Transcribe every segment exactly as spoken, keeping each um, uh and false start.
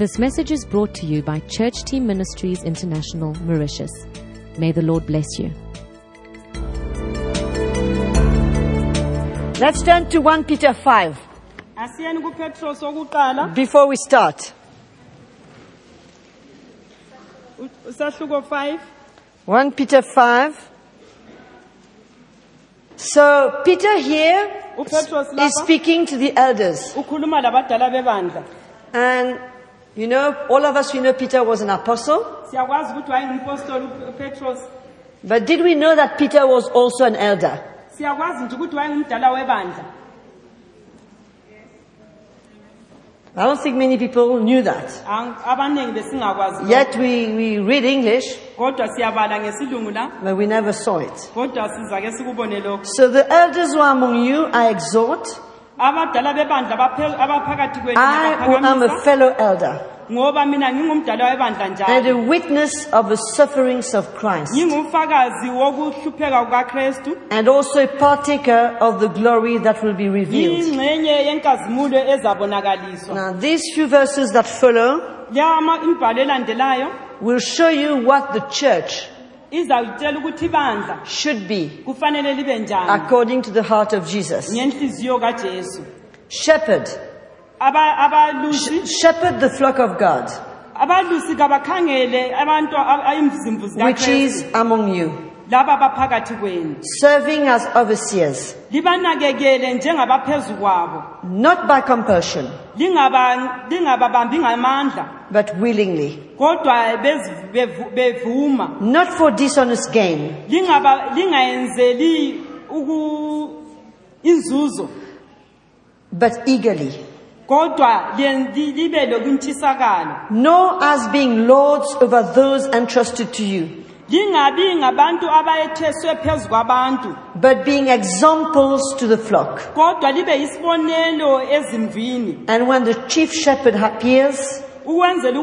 This message is brought to you by Church Team Ministries International, Mauritius. May the Lord bless you. Let's turn to First Peter five before we start. First Peter five. So Peter here is speaking to the elders. And you know, all of us, we know Peter was an apostle. But did we know that Peter was also an elder? I don't think many people knew that. Yet we, we read English, but we never saw it. So the elders who are among you, I exhort, I who am a fellow elder, and a witness of the sufferings of Christ, and also a partaker of the glory that will be revealed. Now these few verses that follow will show you what the church should be according to the heart of Jesus. Shepherd. Sh- shepherd the flock of God, which is among you, serving as overseers, not by compulsion, but willingly, not for dishonest gain, but eagerly, nor as being lords over those entrusted to you, but being examples to the flock. And when the chief shepherd appears, you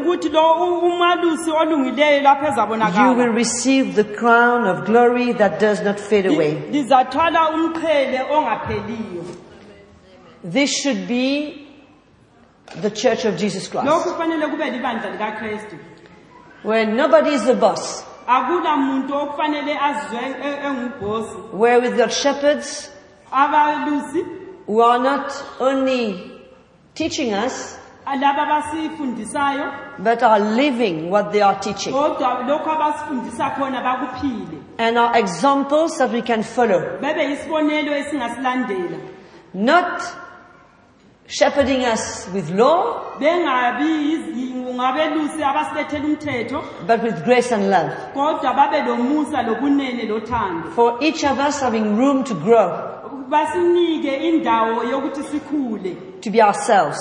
will receive the crown of glory that does not fade away. This should be the Church of Jesus Christ, where nobody is the boss, where we've got shepherds who are not only teaching us, but are living what they are teaching, and are examples that we can follow. Not shepherding us with law, but with grace and love. For each of us having room to grow, to be ourselves,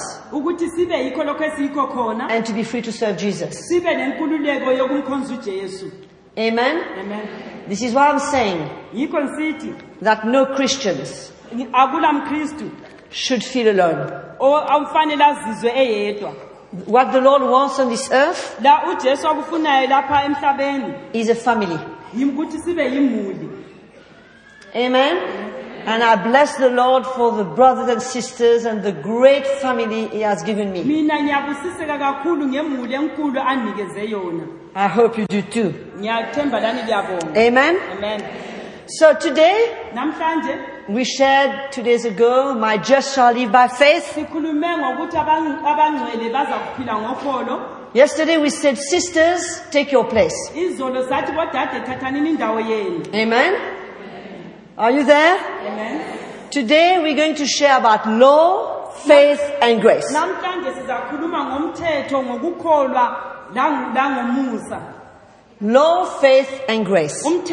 and to be free to serve Jesus. Amen? Amen. This is why I'm saying that no Christians should feel alone. What the Lord wants on this earth is a family. Amen. And I bless the Lord for the brothers and sisters and the great family He has given me. I hope you do too. Amen. Amen. So today, we shared two days ago, my just shall live by faith. Yesterday we said, sisters, take your place. Amen. Are you there? Amen. Today we're going to share about law, faith, and grace. Law, faith, and grace. So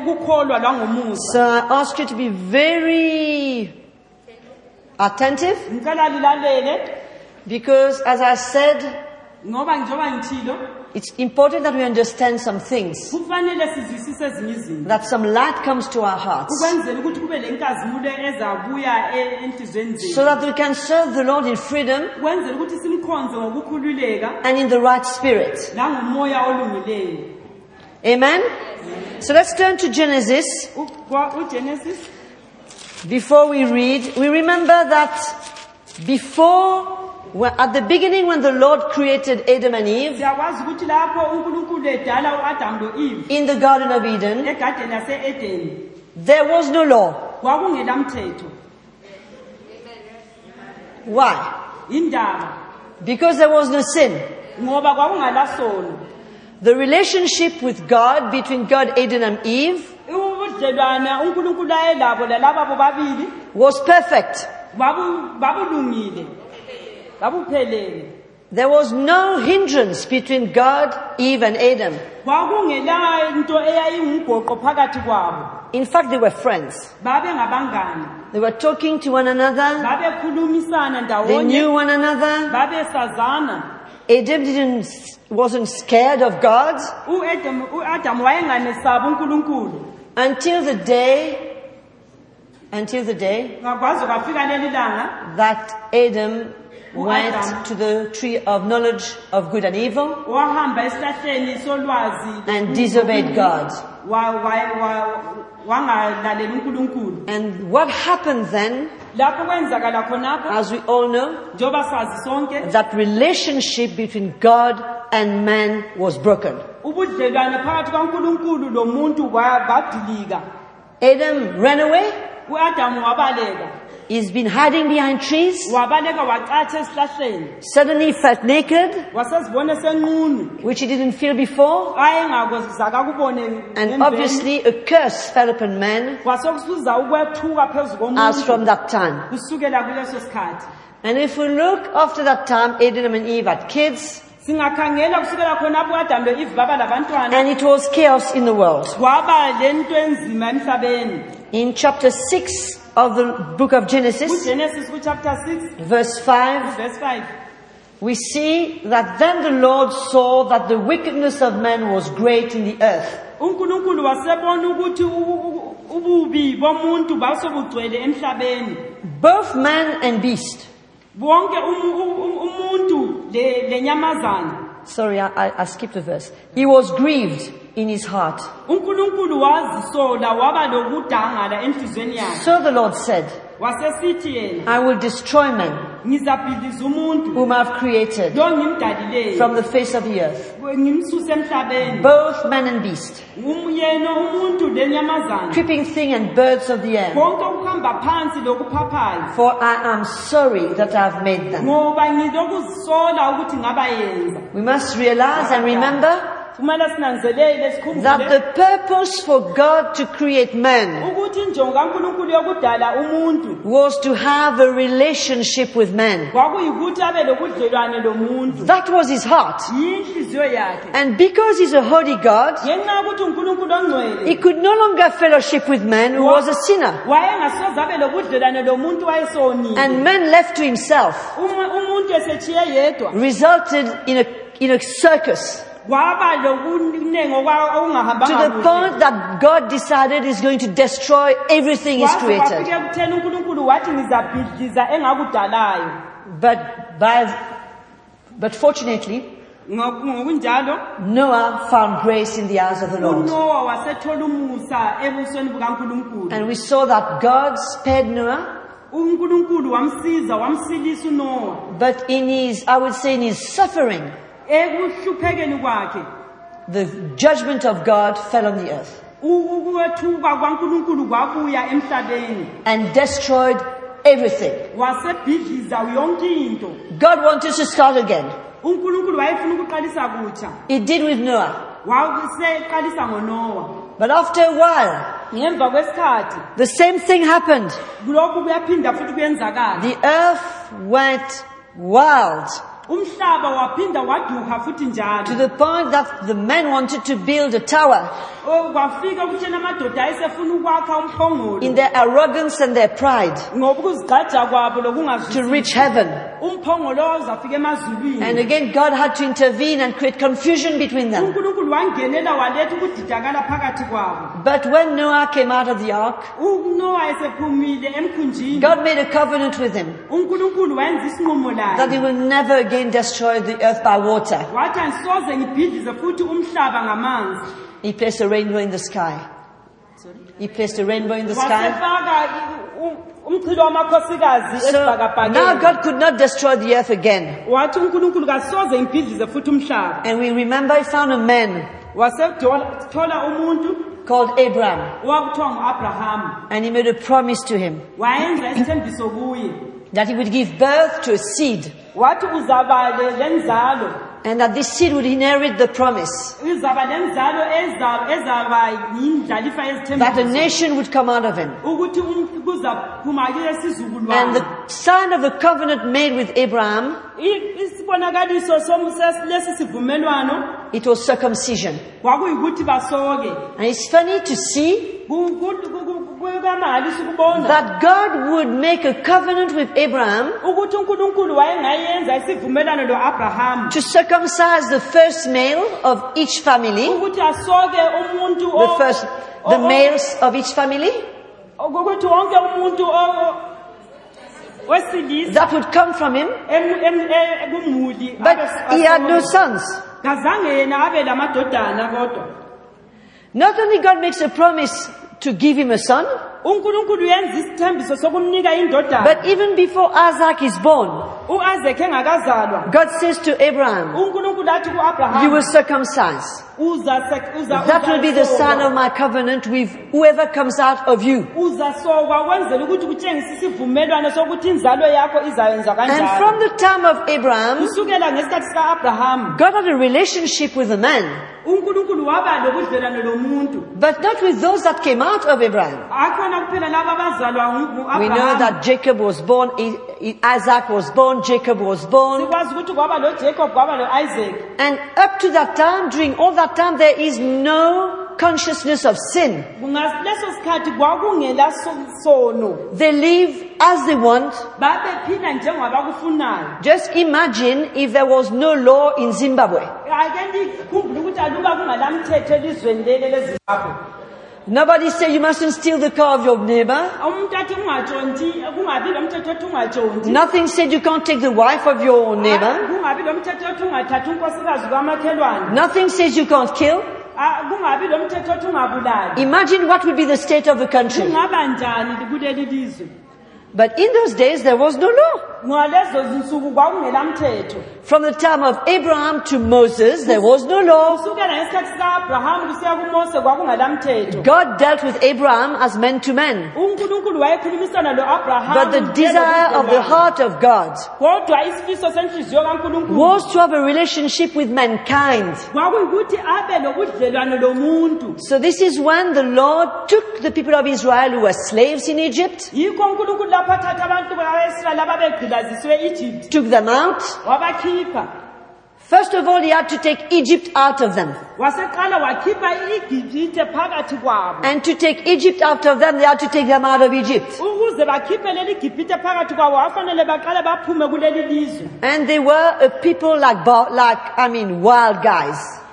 I ask you to be very attentive, because as I said, it's important that we understand some things, that some light comes to our hearts, so that we can serve the Lord in freedom and in the right spirit. Amen? So let's turn to Genesis. Before we read, we remember that before Well, at the beginning, when the Lord created Adam and Eve siyakwazi ukuthi lapho uNkulunkulu edala uAdam loEve in the Garden of Eden, egadeni yase-Edeni there was no law. kwakungela mthetho. Why? Indaba Because there was no sin. ngoba kwakungala sono. The relationship with God, between God, Adam and Eve, Ubudlelwane uNkulunkulu ayelabo lalabo bobabili was perfect. babu babulungile babuphelele. There was no hindrance between God, Eve and Adam. Kwakungela into eyayingumgoqo phakathi kwabo. In fact, they were friends. Babe ngabangani. They were talking to one another. Babe khulumisana They ndawonye. knew one another. Babe sazana. Adam didn't, wasn't scared of God uAdam uAdam wayenganesaba uNkulunkulu. until the day, until the day Ngakwazi kwafika leli langa that Adam went Adam. to the tree of knowledge of good and evil wahamba esihlahleni solwazi and disobeyed God. wa wa- wa- wangalaleli uNkulunkulu. And what happened then, Lapho kwenzakala khonapho as we all know, njoba sazi sonke that relationship between God and man was broken. ubudlelwane phakathi kaNkulunkulu lomuntu ba- badilika. Adam ran away. uAdam wabaleka He's been hiding behind trees. wabaleka wacatsha esihlahleni Suddenly he felt naked, wasezibona senqunu which he didn't feel before. ayengakozaka kubone And ngemveni. obviously a curse fell upon man kwasokusuza ukwethuka phezu as from komuntu that time. kusukela kuleso sikhathi. And if we look after that time, Adam and Eve had kids, Singakhangela kusukela khonapho uAdam loEve baba labantwana and it was chaos in the world. kwaba lento enzima emhlabeni. In chapter six of the book of Genesis, kuGenesis kuchapter six verse five, verse five we see that then the Lord saw that the wickedness of man was great in the earth, uNkulunkulu wasebona ukuthi u- u- ububi bomuntu basobugcwele emhlabeni. both man and beast. Bonke um- um- umuntu le lenyamazana. Sorry, I, I, I skipped a verse. He was grieved in his heart. uNkulunkulu wazisola waba lokudangala enhlizweni yakhe. So the Lord said, Wasesithi yena I will destroy man ngizabhidliza umuntu whom I've created lo ngimdalileyo from the face of the earth, ngimsuse emhlabeni. both man and beast, Umyena umuntu lenyamazana creeping thing and birds of the air. konke okuhamba phansi lokuphaphayo. For I am sorry that I have made them. Ngoba ngizokuzisola ukuthi ngabayenza. We must realize and remember Kumele sinanzelele sikhumbule that the purpose for God to create man ukuthi injongo kaNkulunkulu yokudala umuntu was to have a relationship with man. kwakuyikuthi abe lobudlelwane lomuntu. That was his heart. Yinhliziyo yakhe. And because he's a holy God, Ngenxa yokuthi uNkulunkulu ongcwele he could no longer fellowship with man who was a sinner. wayengasoze abe lobudlelwane lomuntu wayesonile. And man left to himself Uma umuntu esethiye yedwa resulted in a, in a circus. kwaba lokunengi To okungahambanga the kuhle. point that God decided he's going to destroy everything he's Kwaze created. kwafika ekutheni uNkulunkulu wathi ngizabhidliza engakudalayo. But by, but fortunately, Ngo- Ngokunjalo Noah found grace in the eyes of the Lord. uNoah wasethola umusa ebusweni bukaNkulunkulu. And we saw that God spared Noah, uNkulunkulu wamsiza wamsilisa uNoah but in his, I would say in his suffering, ekuhluphekeni kwakhe. the judgment of God fell on the earth U- Ukwethuka kwaNkulunkulu kwabuya emhlabeni and destroyed everything. wasebhidliza yonke into. God wanted to start again. uNkulunkulu wayefuna ukuqalisa kutsha. He did with Noah. Waseqalisa ngoNoah. But after a while, Ngemva kwesikhathi the same thing happened. lokhu kuyaphinda futhi kuyenzakala. The earth went wild Umhlaba waphinda waduka futhi to njalo. the point that the men wanted to build a tower Oh, kwafika ukuthi amadoda ayesefuna ukwakha umphongolo in their arrogance and their pride ngoba ukuzigqaja kwabo to lokungazwisisi. reach heaven. Umphongolo uzafika emazulwini. And again, God had to intervene and create confusion between them. uNkulunkulu wangenela waletha ukudidakala phakathi kwabo. But when Noah came out of the ark, uNoah esephumile emkhunjini, God made a covenant with him uNkulunkulu wayenza isinqumo that he laye. will never again destroy the earth by water. Wathi angisoze ngibhidlize futhi umhlaba ngamanzi. He placed a rainbow in the sky. He placed a rainbow in the sky. Wasefaka u- So now God could not destroy the earth again. And we remember he found a man called Abraham. And he made a promise to him that he would give birth to a seed. And that this seed would inherit the promise. That a nation would come out of him. And the sign of the covenant made with Abraham, it was circumcision. And it's funny to see that God would make a covenant with Abraham to circumcise the first male of each family, the first, the males of each family, that would come from him, but he had no sons. Not only God makes a promise to give him a son, but even before Isaac is born, God says to Abraham, you will circumcise. That will be the sign of my covenant with whoever comes out of you. And from the time of Abraham, God had a relationship with a man, but not with those that came out of Abraham. We know that Jacob was born, Isaac was born, Jacob was born. And up to that time, during all that time, there is no consciousness of sin. They live as they want. Just imagine if there was no law in Zimbabwe. Nobody say you mustn't steal the car of your neighbor. Nothing said you can't take the wife of your neighbor. Nothing says you can't kill. Imagine what would be the state of the country. But in those days there was no law. From the time of Abraham to Moses, there was no law. God dealt with Abraham as man to man. But the desire of the heart of God was to have a relationship with mankind. So this is when the Lord took the people of Israel who were slaves in Egypt, took them out. First of all, he had to take Egypt out of them. And to take Egypt out of them, they had to take them out of Egypt. And they were a people like, like I mean, wild guys.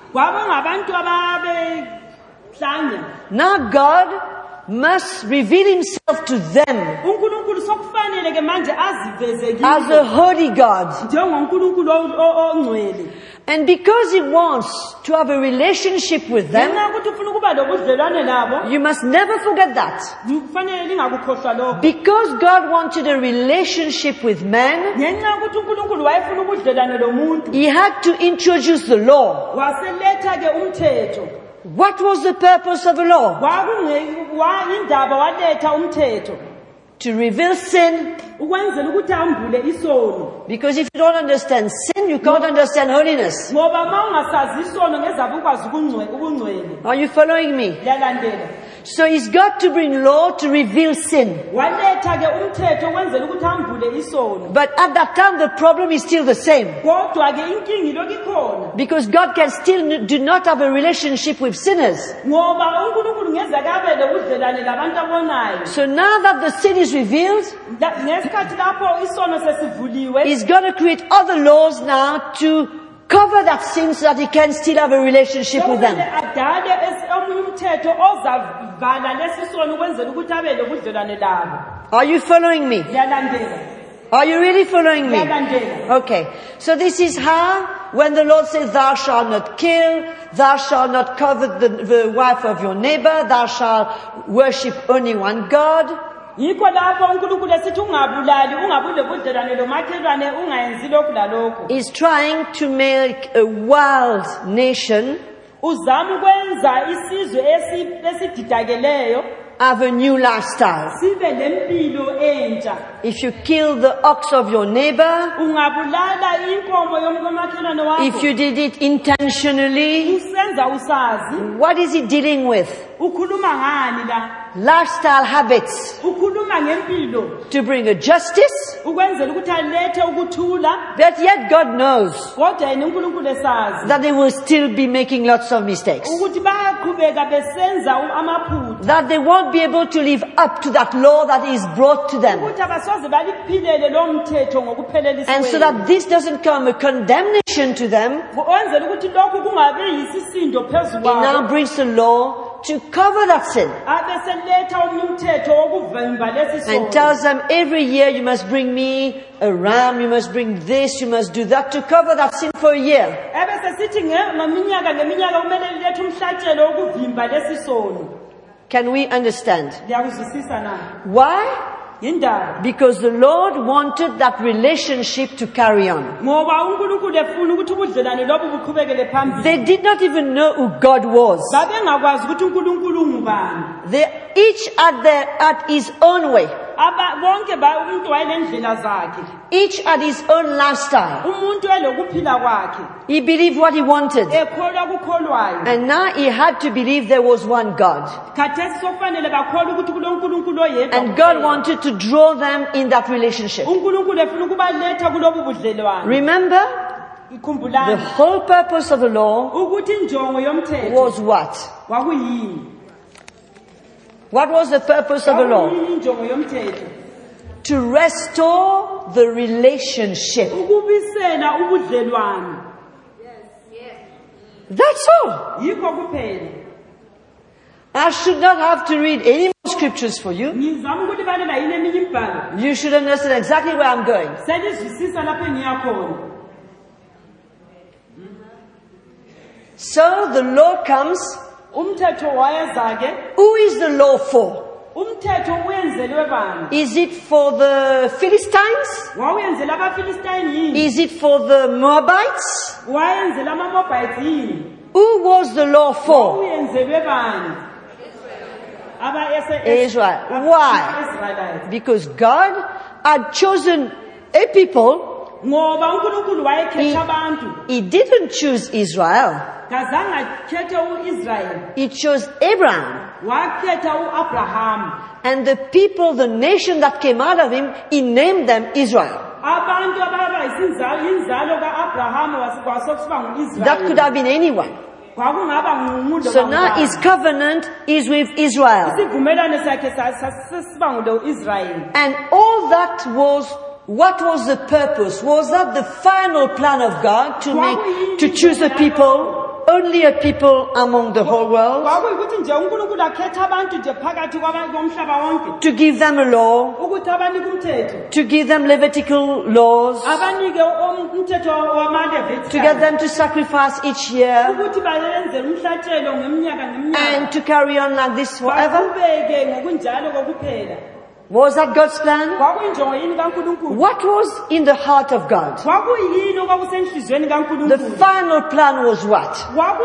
Now God must reveal himself to them as a holy God. And because he wants to have a relationship with them, you must never forget that. Because God wanted a relationship with man, he had to introduce the law. What was the purpose of the law? To reveal sin. Because if you don't understand sin, you can't understand holiness. Are you following me? So he's got to bring law to reveal sin. But at that time the problem is still the same. Because God can still do not have a relationship with sinners. So now that the sin is revealed, he's got to create other laws now to cover that sin so that he can still have a relationship with them. Are you following me? Are you really following me? Okay. So this is how, when the Lord says, thou shalt not kill, thou shalt not covet the, the wife of your neighbor, thou shalt worship only one God. Yikho lapho uNkulunkulu esithi ungabulali ungabule budlelwane lomakhelwane ungayenzi lokhu lalokho. Is trying to make a wild nation uzama ukwenza isizwe esididakeleyo have a new lifestyle. sibe lempilo entsha. If you kill the ox of your neighbor, ungabulala inkomo yomkomakhelwane wakho, if you did it intentionally, usenza usazi, what is he dealing with? ukhuluma ngani la? Lifestyle habits ukhuluma ngempilo to bring a justice, ukwenzela ukuthi alethe ukuthula, but yet God knows kodwa yena uNkulunkulu esazi that they will still be making lots of mistakes, ukuthi bayaqhubeka besenza amaphutha, that they won't be able to live up to that law that is brought to them. ukuthi abasoze baliphilele lo mthetho ngokuphelelisiweyo. And so that this doesn't come a condemnation to them, ukwenzela ukuthi lokhu kungabe yisisindo phezulu it now kwabo, brings the law to cover that sin abeseletha omnye umthetho wokuvimba lesi and sono. tells them every year you must bring me a ram, you must bring this, you must do that to cover that sin for a year. ebesesithi ngeminyaka ngeminyaka kumele lilethe umhlatshelo wokuvimba lesi sono. Can we understand? Liyakuzwisisa na? Why? Yindaba Because the Lord wanted that relationship to carry on. ngoba uNkulunkulu efuna ukuthi ubudlelwane lobu buqhubekele phambili. They did not even know who God was. Babengakwazi ukuthi uNkulunkulu ngubani. They each at their, at his own way. Aba bonke ba umuntu wayelendlela zakhe. Each had his own lifestyle. Umuntu elokuphila kwakhe. He believed what he wanted. Ekholwa kukholwayo. And now he had to believe there was one God. Khathesi sofanele bakholwa ukuthi kuloNkulunkulu oyedwa. And God wanted to draw them in that relationship. uNkulunkulu efuna ukubaletha kulobu budlelwane. Remember, the Ikhumbulani whole purpose of the law ukuthi injongo yomthetho was what? kwakuyini? What was the purpose of the law? Kwakuyini injongo yomthetho? To restore the relationship. Ukubisela ubudlelwane. That's all. Yikho kuphela. I should not have to read any more scriptures for you. Ngizama ukuthi balela yini eminye imibhalo. You should understand exactly where I'm going. Selizwisisa lapho engiyakhona. So the law comes. Umthetho wayezake. Who is the law for? Umthetho uyenzelwe bani? Is it for the Philistines? Wawuyenzela abaFilistine yini? Is it for the Moabites? Wayenzela amaMoabite yini? Who was the law for? Wawuyenzelwe bani? Aba Israel. Why? Israelites. Because God had chosen a people. Ngoba uNkulunkulu wayekhetha abantu. He didn't choose Israel. Kazange akhethe uIsrael. He chose Abraham. Wakhetha uAbraham. And the people, the nation that came out of him, he named them Israel. Abantu ababa isinzalo inzalo kaAbraham wasikuba nguIsrael. That could have been anyone. Kwakungaba ngumuntu. So now his covenant is with Israel. Isivumelwano sakhe sasiba ngulo Israel. And all that was, what was the purpose? Was that the final plan of God to make, to choose a people? Only a people among the whole world? To give them a law? To give them Levitical laws? To get them to sacrifice each year? And to carry on like this forever? Was that God's plan? What was in the heart of God? The final plan was what?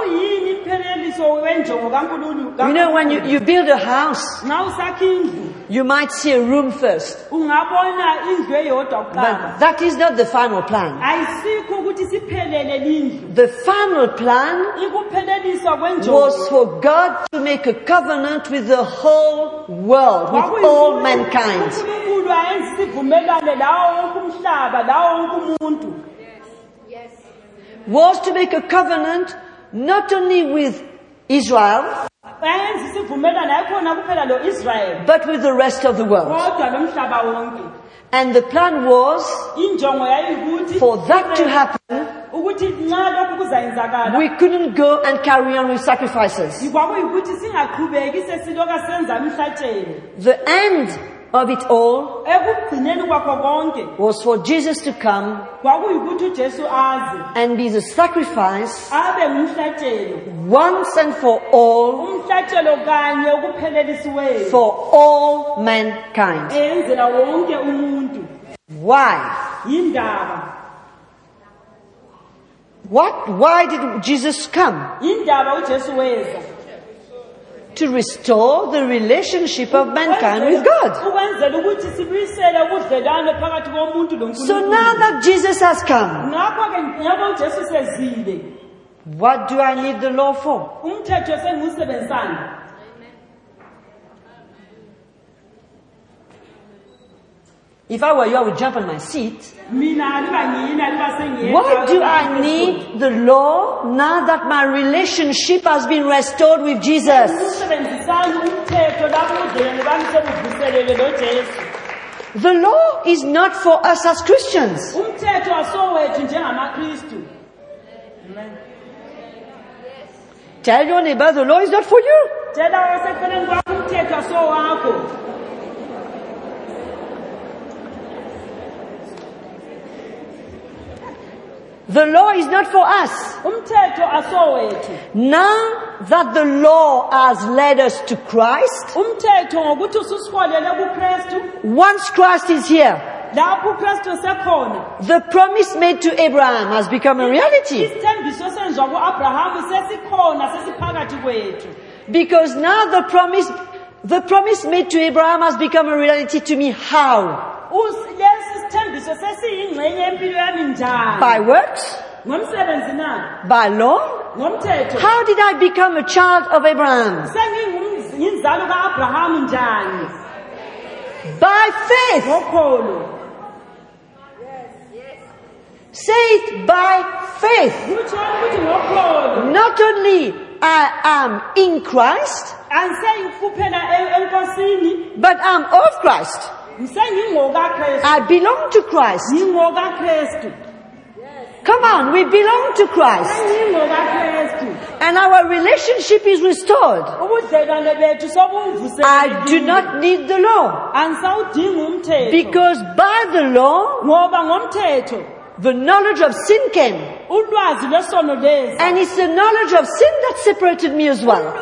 You know, when you, you build a house, you might see a room first. But that is not the final plan. The final plan was for God to make a covenant with the whole world, with all mankind. Was to make a covenant not only with Israel, but with the rest of the world. And the plan was for that to happen. We couldn't go and carry on with sacrifices. The end of it all was for Jesus to come and be the sacrifice once and for all for all mankind. Why? What? Why did Jesus come? To restore the relationship of mankind with God. So now that Jesus has come, what do I need the law for? If I were you, I would jump on my seat. Why do I need the law now that my relationship has been restored with Jesus? The law is not for us as Christians. Tell your neighbor, the law is not for you. The law is not for us. Now that the law has led us to Christ, once Christ is here, the promise made to Abraham has become a reality. Because now the promise, the promise made to Abraham has become a reality to me. How? By works? By law? How did I become a child of Abraham? By faith. Say it, by faith. Not only I am in Christ, but I'm of Christ. I belong to Christ. Come on, we belong to Christ. And our relationship is restored. I do not need the law. Because by the law, the knowledge of sin came. And it's the knowledge of sin that separated me as well.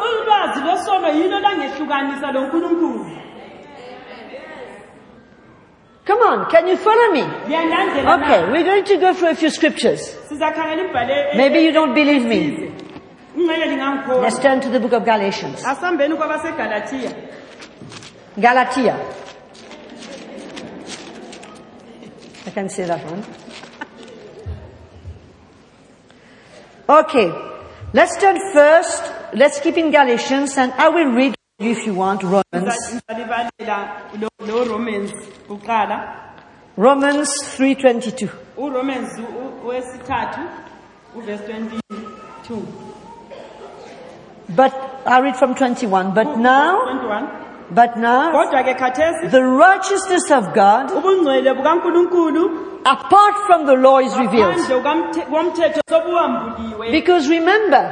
Come on, can you follow me? Okay, we're going to go through a few scriptures. Maybe you don't believe me. Let's turn to the book of Galatians. Galatia. I can say that one. Okay, let's turn first. Let's keep in Galatians, and I will read you if you want Romans. Romans three twenty-two. But I read from twenty-one. But now, but now, the righteousness of God apart from the law is revealed. Because remember,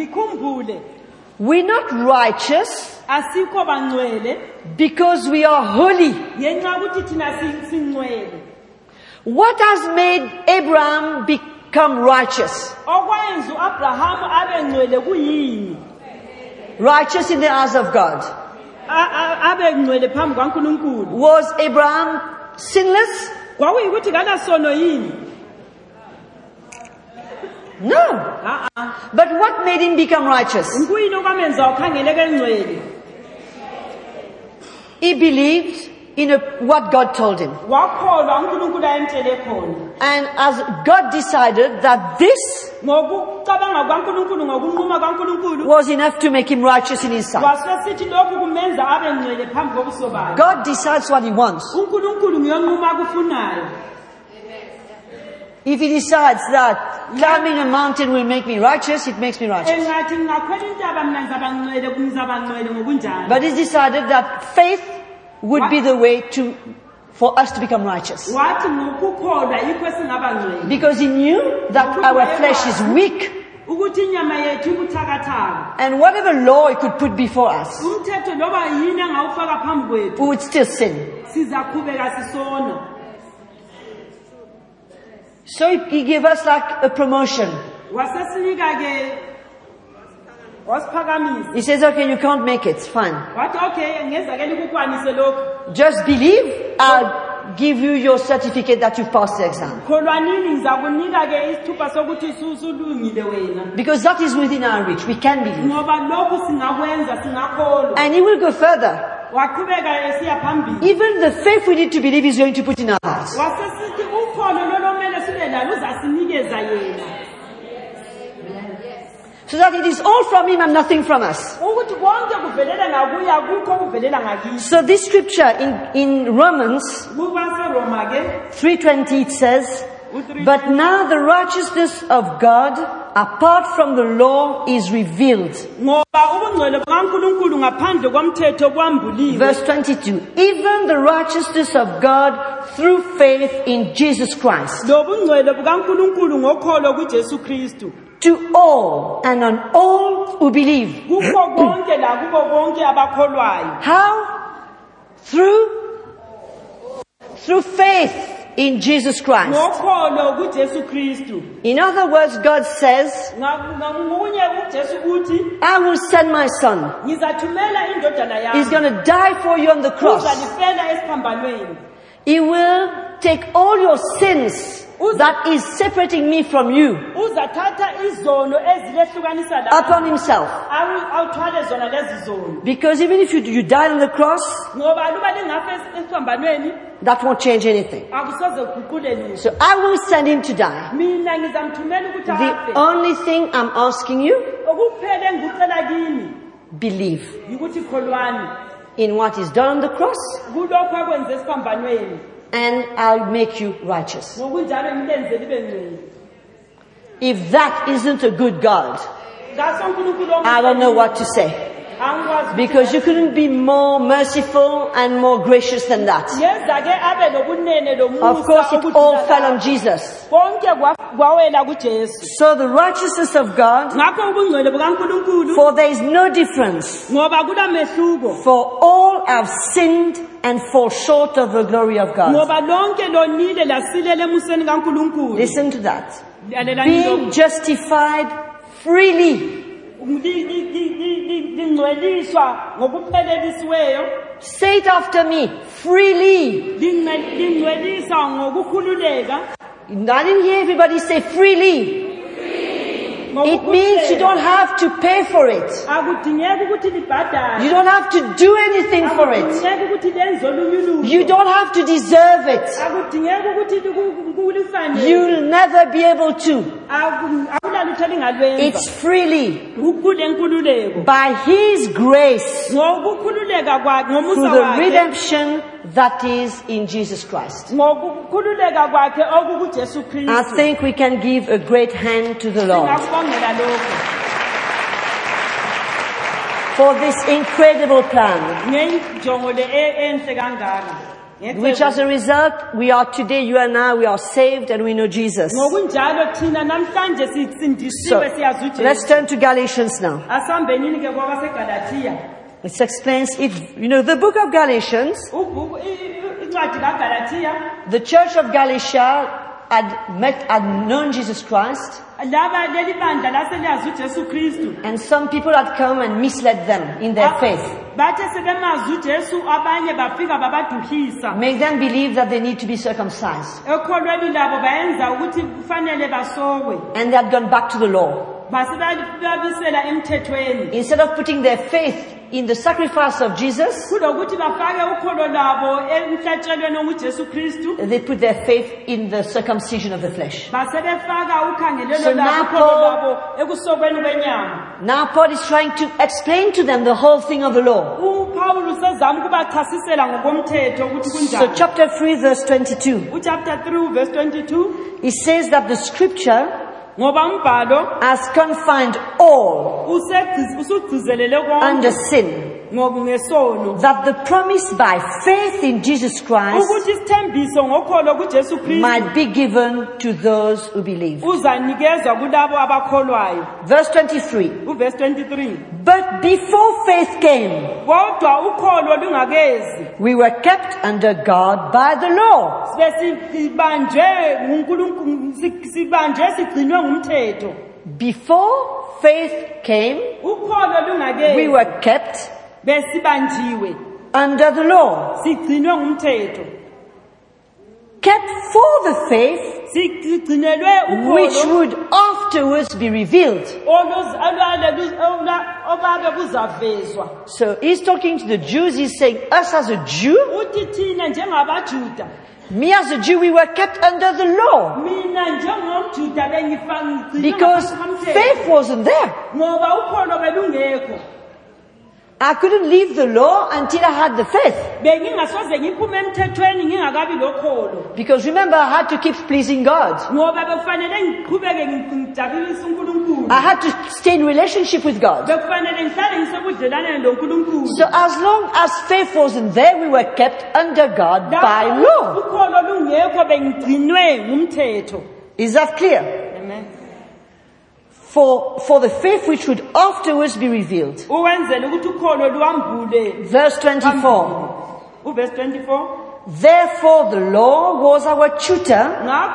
we're not righteous because we are holy. What has made Abraham become righteous? Righteous in the eyes of God. Was Abraham sinless? No. But what made him become righteous? He believed in a, what God told him. And as God decided that this was enough to make him righteous in his sight. God decides what he wants. If he decides that climbing a mountain will make me righteous, it makes me righteous. But he decided that faith would be the way to for us to become righteous. Because he knew that our flesh is weak And whatever law he could put before us, we would still sin. So he, he gave us like a promotion. He says, okay, you can't make it, fine. Just believe, I'll give you your certificate that you passed the exam. Because that is within our reach, we can believe. And he will go further. Even the faith we need to believe is going to put in our hearts. So that it is all from him and nothing from us. So this scripture in, in Romans three twenty, it says, but now the righteousness of God apart from the law is revealed. Verse twenty-two, even the righteousness of God through faith in Jesus Christ. To all and on all who believe. How? Through? Through faith in Jesus Christ. In other words, God says, I will send my son. He's going to die for you on the cross. He will take all your sins that is separating me from you upon himself. Because even if you, you die on the cross, that won't change anything. So I will send him to die. The only thing I'm asking you, believe in what is done on the cross, and I'll make you righteous. If that isn't a good God, I don't know what to say. Because you couldn't be more merciful and more gracious than that. Of course, it all fell on Jesus. So the righteousness of God, for there is no difference. For all have sinned and fall short of the glory of God. Listen to that. Being justified freely. Say it after me. Freely. I didn't hear everybody say freely. It means you don't have to pay for it. You don't have to do anything for it. You don't have to deserve it. You'll never be able to. It's freely. By His grace. Through the redemption that is in Jesus Christ. I think we can give a great hand to the Lord for this incredible plan, which as a result, we are today, you and I, we are saved and we know Jesus. So, let's turn to Galatians now. It explains it. You know, the book of Galatians, the church of Galatia had met, had known Jesus Christ, and some people had come and misled them in their faith. Make them believe that they need to be circumcised. And they had gone back to the law. Instead of putting their faith in the sacrifice of Jesus, they put their faith in the circumcision of the flesh. So now Paul, now Paul is trying to explain to them the whole thing of the law. So chapter three verse twenty-two. It says that the scripture has confined all under sin. that the promise by faith in Jesus Christ might be given to those who believe. Verse twenty-three. Verse twenty-three. But before faith came, we were kept under God by the law. Before faith came, we were kept under the law. Kept for the faith which would afterwards be revealed. So he's talking to the Jews, he's saying, us as a Jew, me as a Jew, we were kept under the law. Because faith wasn't there. I couldn't leave the law until I had the faith. Because remember, I had to keep pleasing God. I had to stay in relationship with God. So as long as faith wasn't there, we were kept under God by law. Is that clear? Amen. For, for the faith which would afterwards be revealed. Verse twenty-four. Verse twenty-four. Therefore the law was our tutor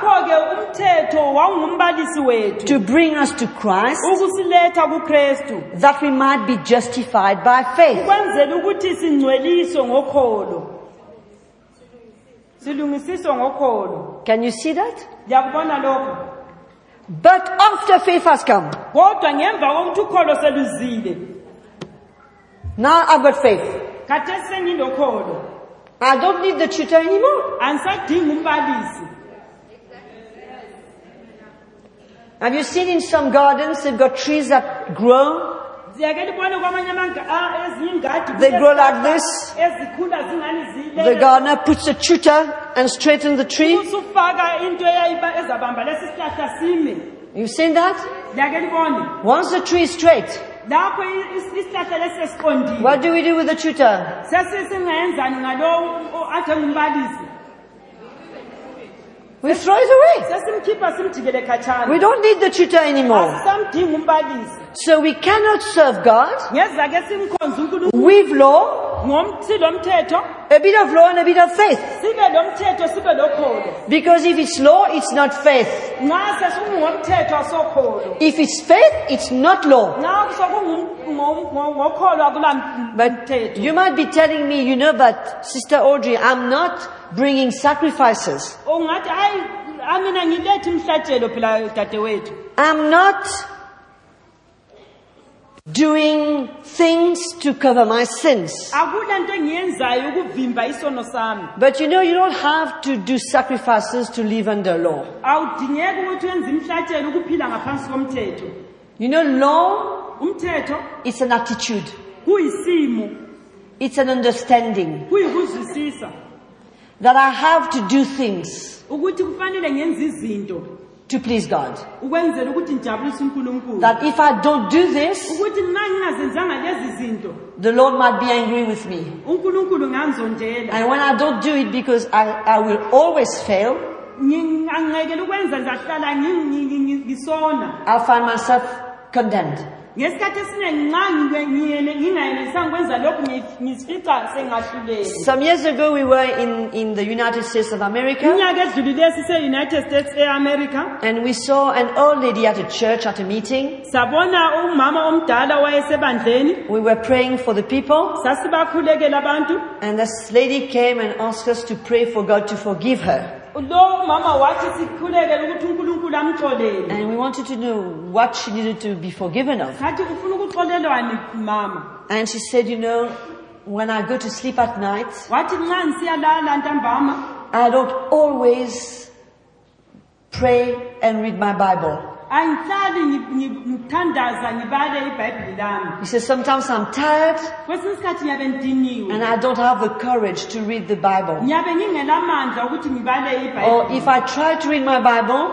to bring us to Christ, that we might be justified by faith. Can you see that? But after faith has come, now I've got faith. I don't need the tutor anymore. Have you seen in some gardens they've got trees that grow? They grow like this. The gardener puts a tutor and straightens the tree. You've seen that? Once the tree is straight, what do we do with the tutor? We throw it away. We don't need the tutor anymore. So we cannot serve God with law, a bit of law and a bit of faith. Because if it's law, it's not faith. If it's faith, it's not law. But you might be telling me, you know, but Sister Audrey, I'm not bringing sacrifices. I'm not doing things to cover my sins. But you know, you don't have to do sacrifices to live under law. You know, law, it's an attitude. It's an understanding that I have to do things to please God. That if I don't do this, the Lord might be angry with me. And when I don't do it, because I, I will always fail, I'll find myself condemned. Some years ago we were in, in the United States of America, and we saw an old lady at a church at a meeting. We were praying for the people, and this lady came and asked us to pray for God to forgive her. And we wanted to know what she needed to be forgiven of. And she said, you know, when I go to sleep at night, I don't always pray and read my Bible. He says, sometimes I'm tired and I don't have the courage to read the Bible. Or if I try to read my Bible,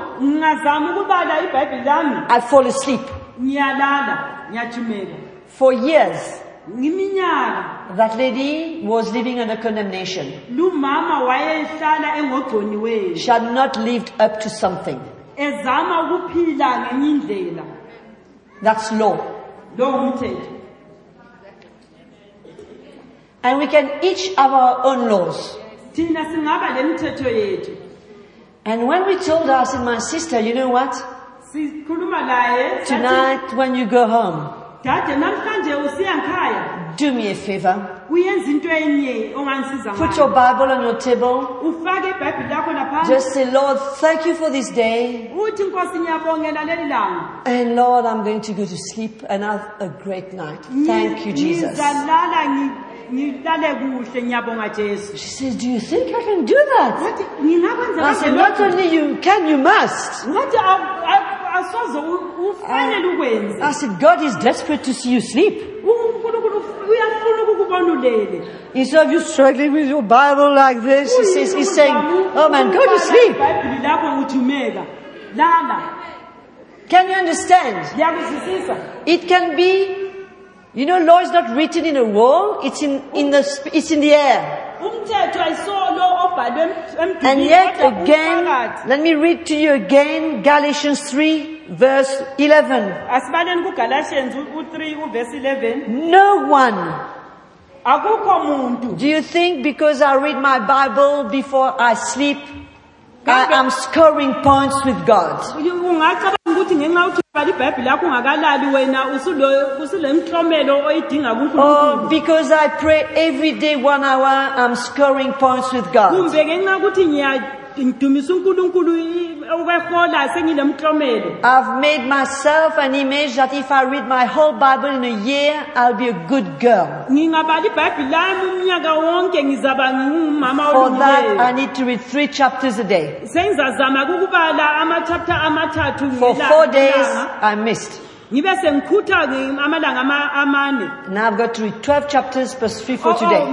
I fall asleep. For years, That lady was living under condemnation. She had not lived up to something. That's law. And we can each have our own laws. And when we told her, I said, my sister, you know what? Tonight when you go home, do me a favor. Put your Bible on your table. Just say, Lord, thank you for this day. And Lord, I'm going to go to sleep and have a great night. Thank you, Jesus. She says, do you think I can do that? I said, not only you can, you must. I, I said, God is desperate to see you sleep. Instead of you struggling with your Bible like this, he says, he's saying, oh man, go to sleep. Can you understand? It can be, you know, law is not written in a wall, it's in, in the, it's in the air. And yet again, let me read to you again, Galatians three, verse eleven. No one. Do you think because I read my Bible before I sleep, I am scoring points with God? Oh, because I pray every day one hour, I'm scoring points with God. I've made myself an image that if I read my whole Bible in a year, I'll be a good girl. For that, I need to read three chapters a day. For four days, I missed. Now I've got to read twelve chapters plus three for today.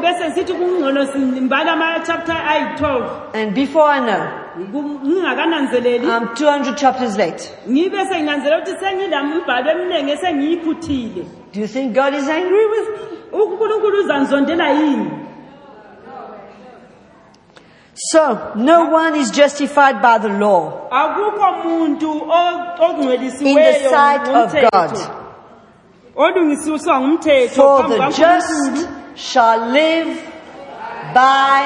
And before I know, I'm two hundred chapters late. Do you think God is angry with me? So, no one is justified by the law in the sight of God. For the just shall live by...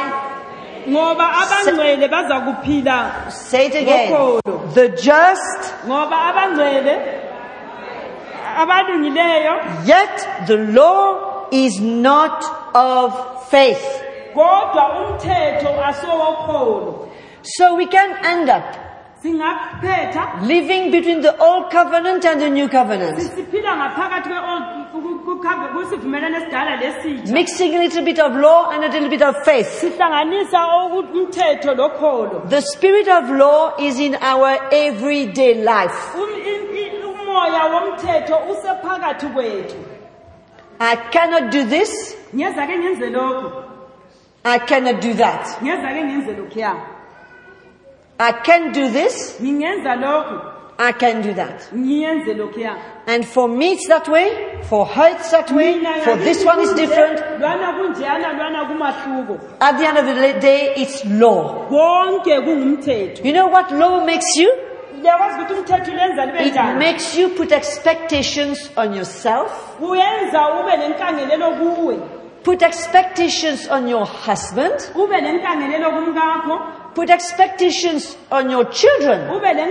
Say it again. The just, yet the law is not of faith. So we can end up living between the old covenant and the new covenant, mixing a little bit of law and a little bit of faith. The spirit of law is in our everyday life. I cannot do this. I cannot do that. I can do this. I can do that. And for me it's that way. For her it's that way. For this one is different. At the end of the day, it's law. You know what law makes you? It makes you put expectations on yourself. Put expectations on your husband. Put expectations on your children.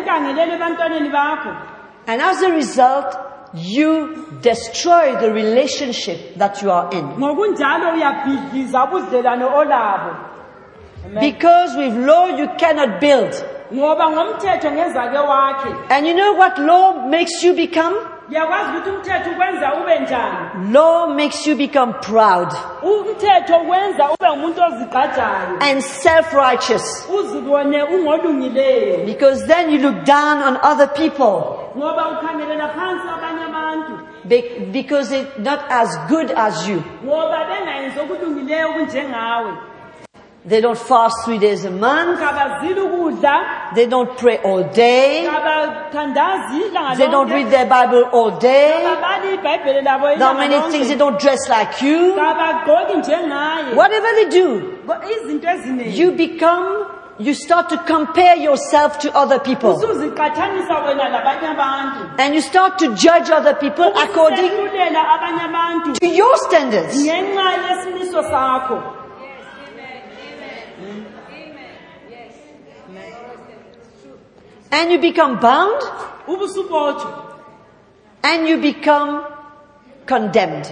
And as a result, you destroy the relationship that you are in. Because with law you cannot build. And you know what law makes you become? Law makes you become proud and self-righteous, because then you look down on other people Be- because they're not as good as you. They don't fast three days a month. They don't pray all day. They don't read their Bible all day. There are many things. They don't dress like you. Whatever they do, you become, you start to compare yourself to other people. And you start to judge other people according to your standards. And you become bound. And you become condemned.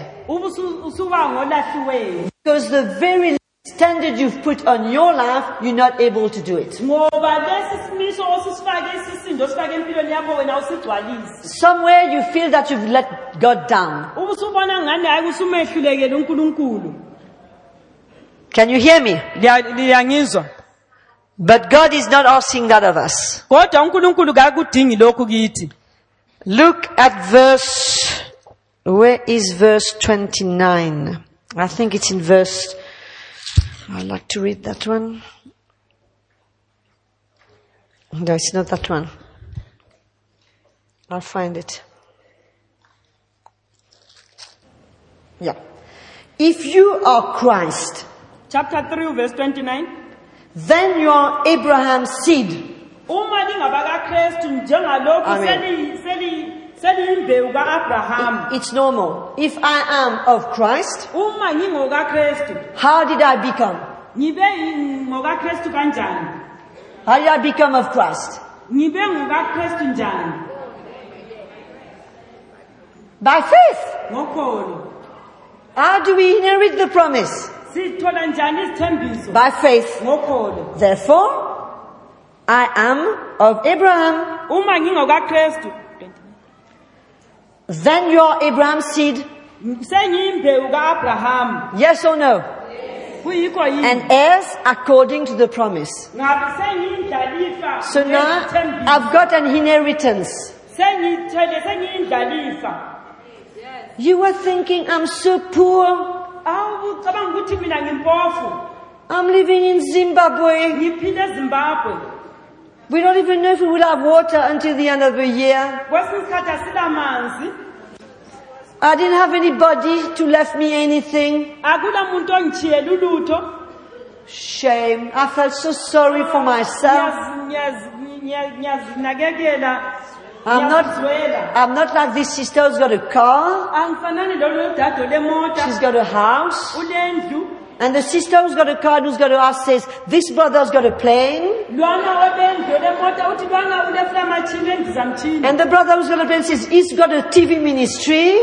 Because the very standard you've put on your life, you're not able to do it. Somewhere you feel that you've let God down. Can you hear me? But God is not asking that of us. Look at verse, where is verse twenty-nine? I think it's in verse, I'd like to read that one. No, it's not that one. I'll find it. Yeah. If you are Christ, chapter three, verse twenty-nine, then you are Abraham's seed. It's normal. If I am of Christ, how did I become? How did I become of Christ? By faith. How do we inherit the promise? By faith. Therefore, I am of Abraham. Then you are Abraham's seed. Yes or no? And heirs according to the promise. So now I've got an inheritance. You were thinking, I'm so poor. I'm living in Zimbabwe. We don't even know if we will have water until the end of the year. I didn't have anybody to left me anything. Shame. I felt so sorry for myself. I'm not, I'm not like this sister who's got a car. She's got a house. And the sister who's got a car and who's got a house says, this brother's got a plane. And the brother who's got a plane says, he's got a T V ministry.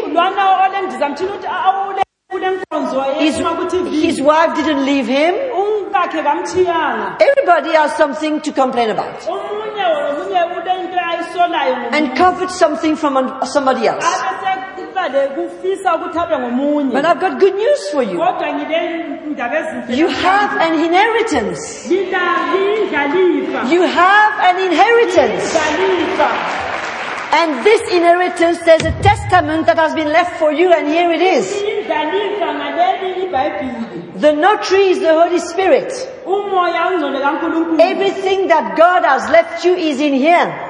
His, his wife didn't leave him. Everybody has something to complain about. And covet something from somebody else. But I've got good news for you. You have an inheritance. You have an inheritance. And this inheritance, there's a testament that has been left for you, and here it is. The notary is the Holy Spirit. Everything that God has left you is in here.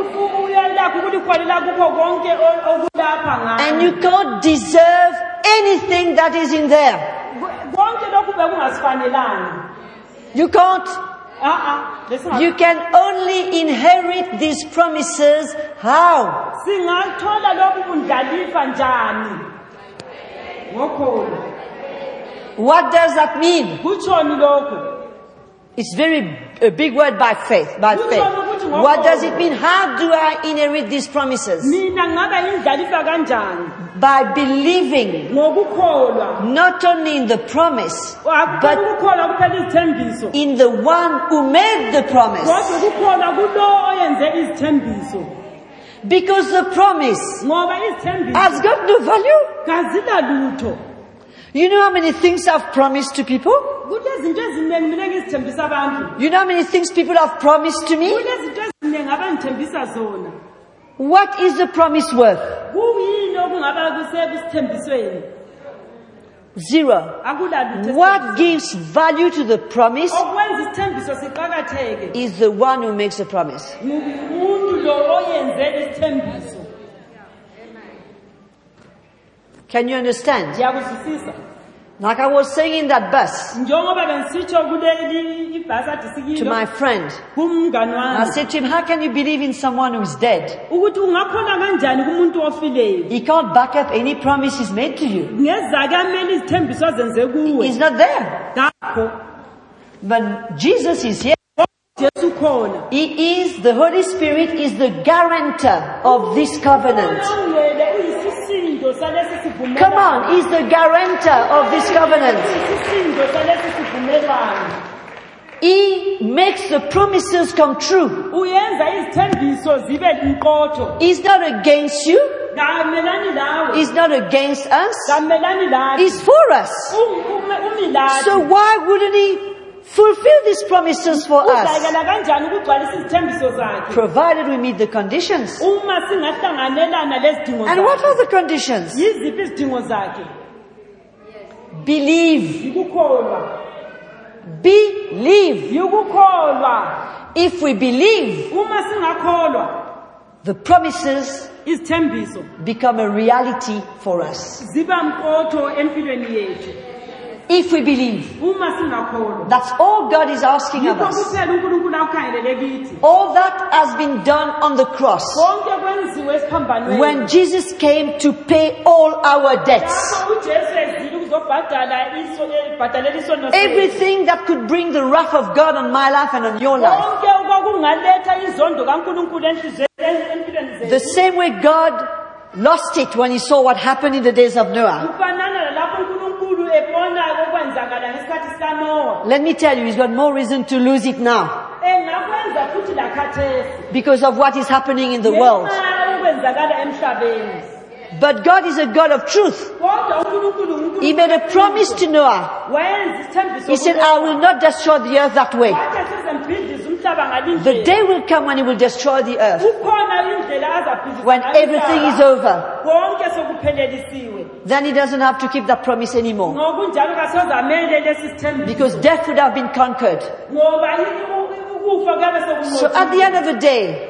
And you can't deserve anything that is in there. You can't. You can only inherit these promises. How? What does that mean? It's very a big word, by faith. By faith. What does it mean? How do I inherit these promises? By believing not only in the promise, but in the one who made the promise. Because the promise has got no value. You know how many things I've promised to people? You know how many things people have promised to me? What is the promise worth? Zero. What gives value to the promise is the one who makes the promise. Can you understand? Like I was saying in that bus to my friend, I said to him, how can you believe in someone who is dead? He can't back up any promises made to you. He's not there. But Jesus is here. He is, the Holy Spirit is the guarantor of this covenant. Come on, he's the guarantor of this covenant. He makes the promises come true. He's not against you. He's not against us. He's for us. So why wouldn't he fulfill these promises for us? Provided we meet the conditions. And what are the conditions? Believe. Believe. If we believe, the promises become a reality for us. If we believe, that's all God is asking of us. All that has been done on the cross. When Jesus came to pay all our debts. Everything that could bring the wrath of God on my life and on your life. The same way God lost it when he saw what happened in the days of Noah. Let me tell you, he's got more reason to lose it now. Because of what is happening in the world. But God is a God of truth. He made a promise to Noah. He said, I will not destroy the earth that way. The day will come when he will destroy the earth. When everything is over. Then he doesn't have to keep that promise anymore. Because death would have been conquered. So at the end of the day,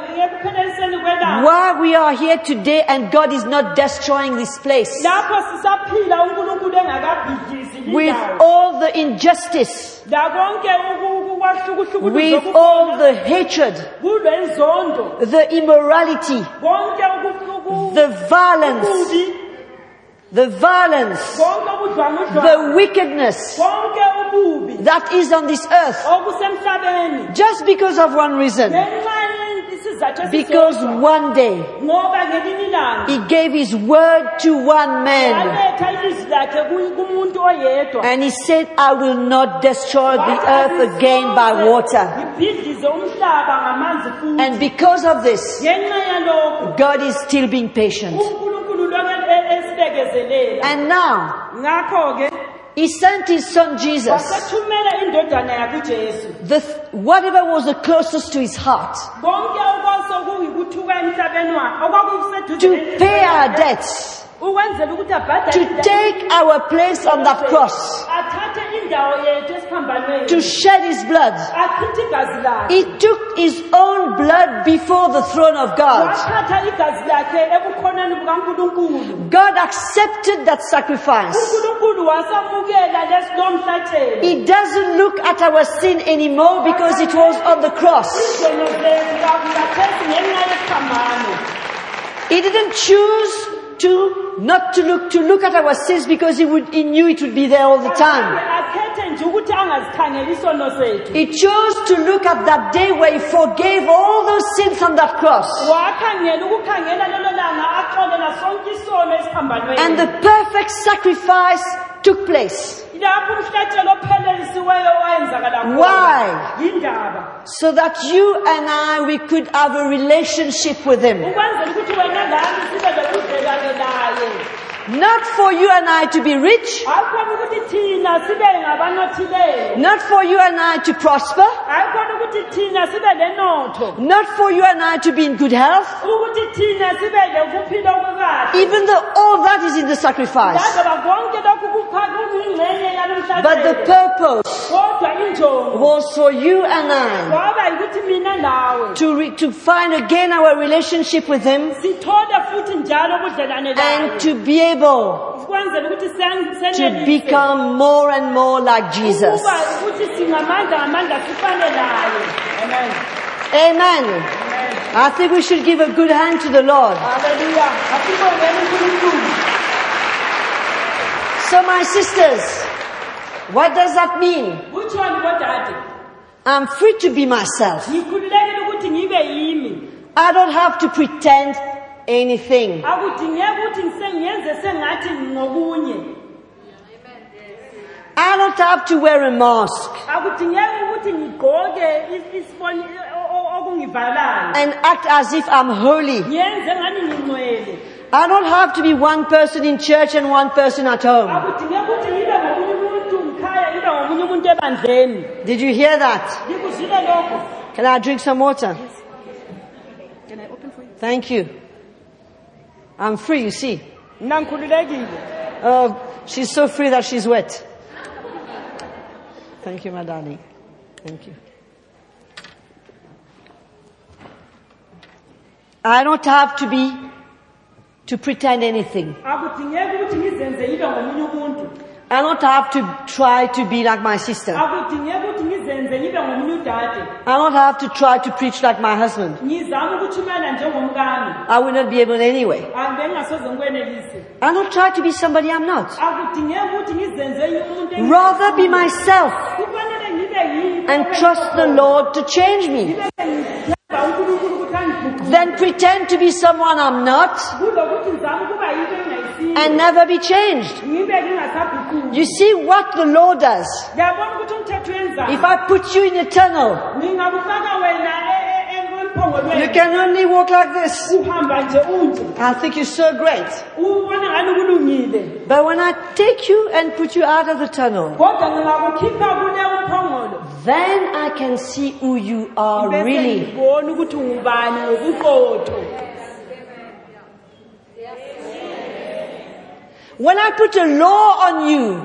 why we are here today and God is not destroying this place with all the injustice, with all the hatred, the immorality, the violence, the violence, the wickedness that is on this earth, just because of one reason. Because one day he gave his word to one man and he said, I will not destroy the earth again by water. And because of this, God is still being patient. And now he sent his son Jesus, the, whatever was the closest to his heart, to pay our debts, to take our place on that cross, to shed his blood. He took his own blood before the throne of God. God accepted that sacrifice. He doesn't look at our sin anymore because it was on the cross. He didn't choose to not to look to look at our sins because he would he knew it would be there all the time. He chose to look at that day where he forgave all those sins on that cross. And the perfect sacrifice took place. Why? So that you and I, we could have a relationship with him. Not for you and I to be rich. Not for you and I to prosper. Not for you and I to be in good health, even though all that is in the sacrifice. But the purpose was for you and I to, re- to find again our relationship with Him and to be able to become more and more like Jesus. Amen. Amen. I think we should give a good hand to the Lord. So my sisters, what does that mean? I'm free to be myself. I don't have to pretend anything. I don't have to wear a mask and act as if I'm holy. I don't have to be one person in church and one person at home. Did you hear that? Can I drink some water? Can I open for you? Thank you. I'm free, you see. Oh, she's so free that she's wet. Thank you, my darling. Thank you. I don't have to be, to pretend anything. I don't have to try to be like my sister. I don't have to try to preach like my husband. I will not be able anyway. I don't try to be somebody I'm not. Rather be myself and trust the Lord to change me. Then pretend to be someone I'm not and never be changed. You see what the Lord does. If I put you in a tunnel, you can only walk like this. I think you're so great. But when I take you and put you out of the tunnel, then I can see who you are really. When I put a law on you,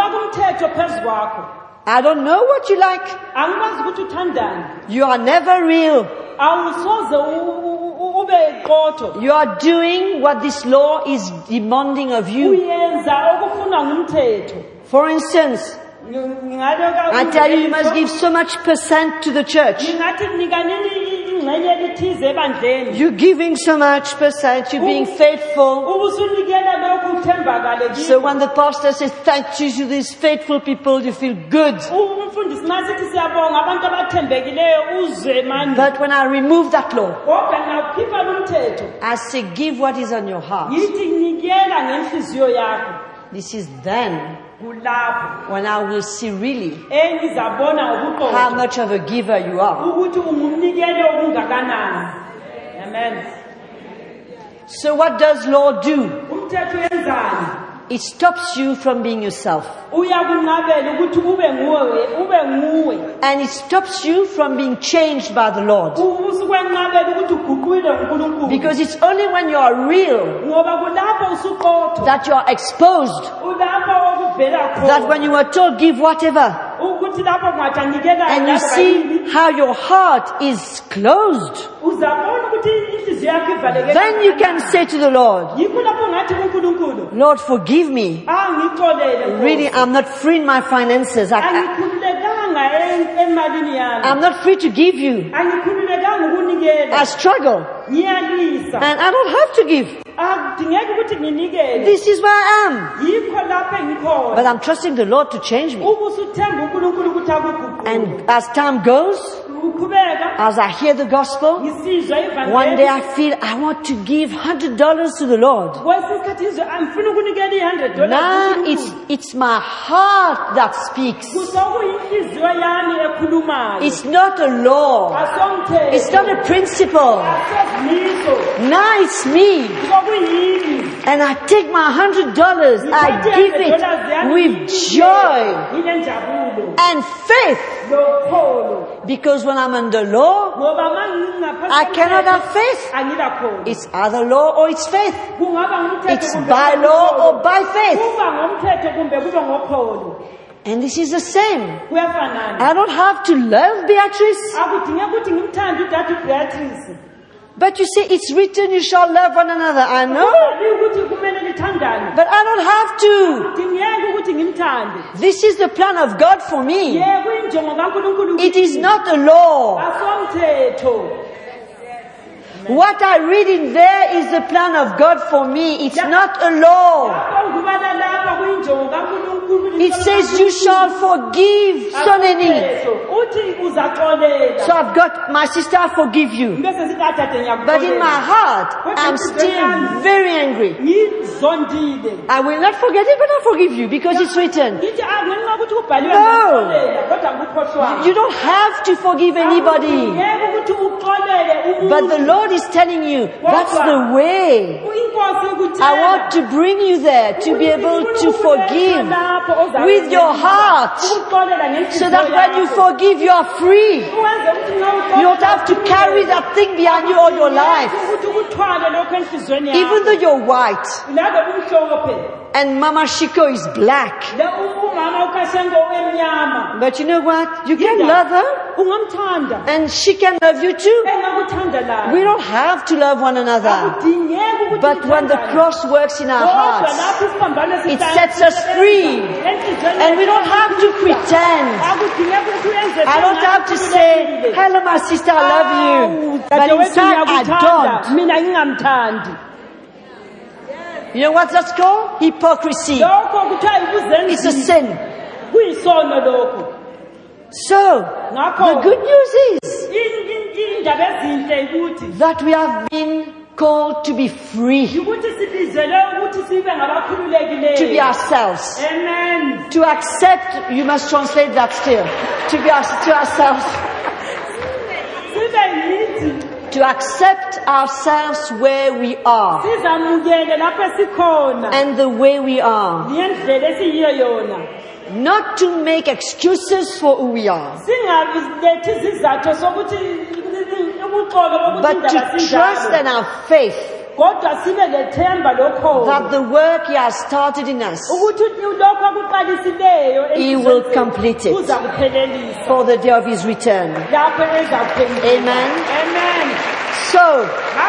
I don't know what you like. You are never real. You are doing what this law is demanding of you. For instance, I tell you, you must give so much percent to the church. You're giving so much percent, you're being faithful. So when the pastor says thank you to these faithful people, you feel good. But when I remove that law, I say give what is on your heart. This is then when I will see really how much of a giver you are. Amen. So what does law do? It stops you from being yourself. And it stops you from being changed by the Lord. Because it's only when you are real that you are exposed. That when you are told give whatever, and you see how your heart is closed, then you can say to the Lord, Lord, forgive me. Really, I'm not free in my finances. I, I, I'm not free to give you. I struggle. And I don't have to give. This is where I am. But I'm trusting the Lord to change me. And as time goes, as I hear the gospel, one day I feel I want to give one hundred dollars to the Lord. Now it's, it's my heart that speaks. It's not a law. It's not a principle. Now it's me. And I take my one hundred dollars, I give it with joy and faith. Because when I'm under law, I cannot have faith. It's either law or it's faith. It's by law or by faith. And this is the same. I don't have to love Beatrice. But you say it's written you shall love one another. I know. But I don't have to. This is the plan of God for me. It is not a law. What I read in there is the plan of God for me. It's not a law. It says you shall forgive Soneni. So I've got, my sister, I forgive you. But in my heart, I'm still very angry. I will not forget it, but I forgive you because it's written. No. You don't have to forgive anybody. But the Lord is telling you, that's the way. I want to bring you there to be able to forgive with your heart, so that when you forgive, you are free. You don't have to carry that thing behind you all your life. Even though you're white and Mama Shiko is black, but you know what? You can love her and she can love you too. We don't have to love one another. But when the cross works in our hearts, it sets us free. And we don't have to pretend. I don't have to say, hello my sister, I love you. But inside I don't. You know what that's called? Hypocrisy. It's a sin. So, the good news is that we have been called to be free, to be ourselves, Amen. To accept, you must translate that still, to be our, to ourselves, to accept ourselves where we are and the way we are, not to make excuses for who we are, but to trust in our faith that the work He has started in us, He will complete it for the day of His return. Amen. Amen. So,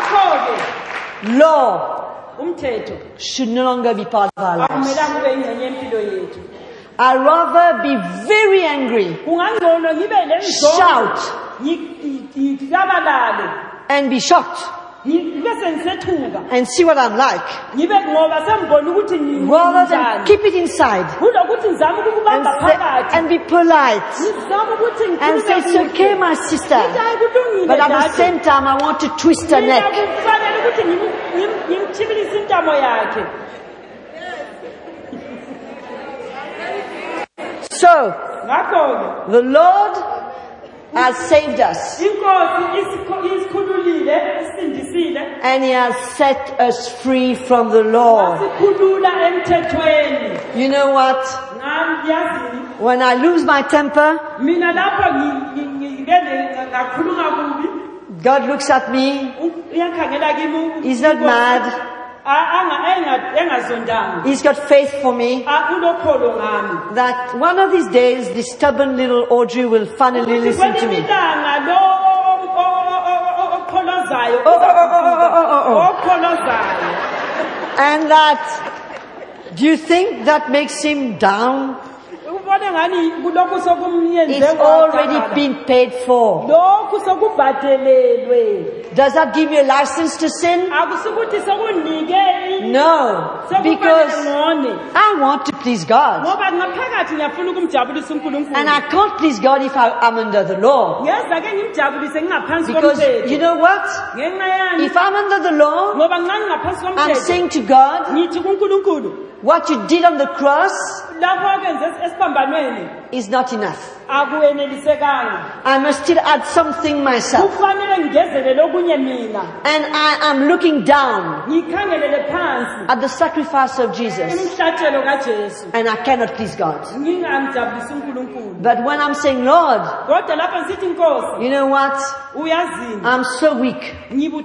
law should no longer be part of our lives. I'd rather be very angry, shout, and be shocked, and see what I'm like, rather than keep it inside and, say, and be polite and say, it's okay my sister, but at the same time I want to twist her neck. So, the Lord has saved us, and He has set us free from the law. You know what? When I lose my temper, God looks at me. He's not mad. He's got faith for me that one of these days this stubborn little Audrey will finally listen to me. Oh, oh, oh, oh, oh, oh. And that, do you think that makes him down? It's already been paid for. Does that give you a license to sin? No, because I want to please God. And I can't please God if I am under the law. Because you know what? If I'm under the law, I'm saying to God, what you did on the cross is not enough. I must still add something myself. And I am looking down at the sacrifice of Jesus. And I cannot please God. But when I'm saying, Lord, you know what? I'm so weak.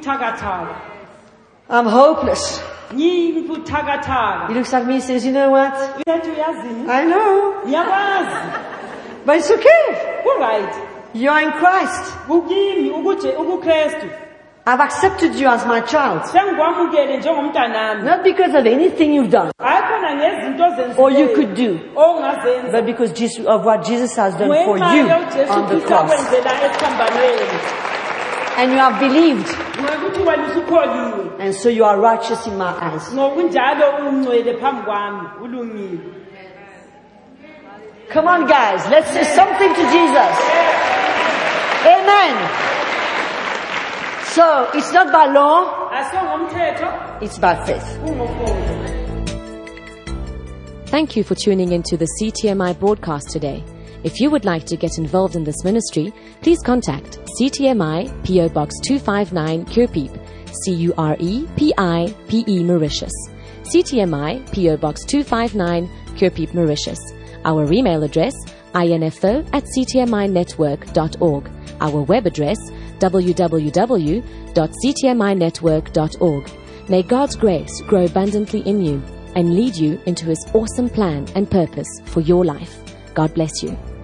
I'm hopeless. He looks at me and says, you know what? I know. But it's okay. You are in Christ. I've accepted you as my child. Not because of anything you've done or you could do, but because of what Jesus has done for you on the cross. And you have believed. And so you are righteous in my eyes. Come on, guys. Let's say something to Jesus. Amen. So, it's not by law. It's by faith. Thank you for tuning into the C T M I broadcast today. If you would like to get involved in this ministry, please contact C T M I, P O Box two five nine, Curepipe, C U R E P I P E, Mauritius. C T M I, P O Box two five nine, Curepipe, Mauritius. Our email address, info at c t m i network dot org. Our web address, w w w dot c t m i network dot org. May God's grace grow abundantly in you and lead you into His awesome plan and purpose for your life. God bless you.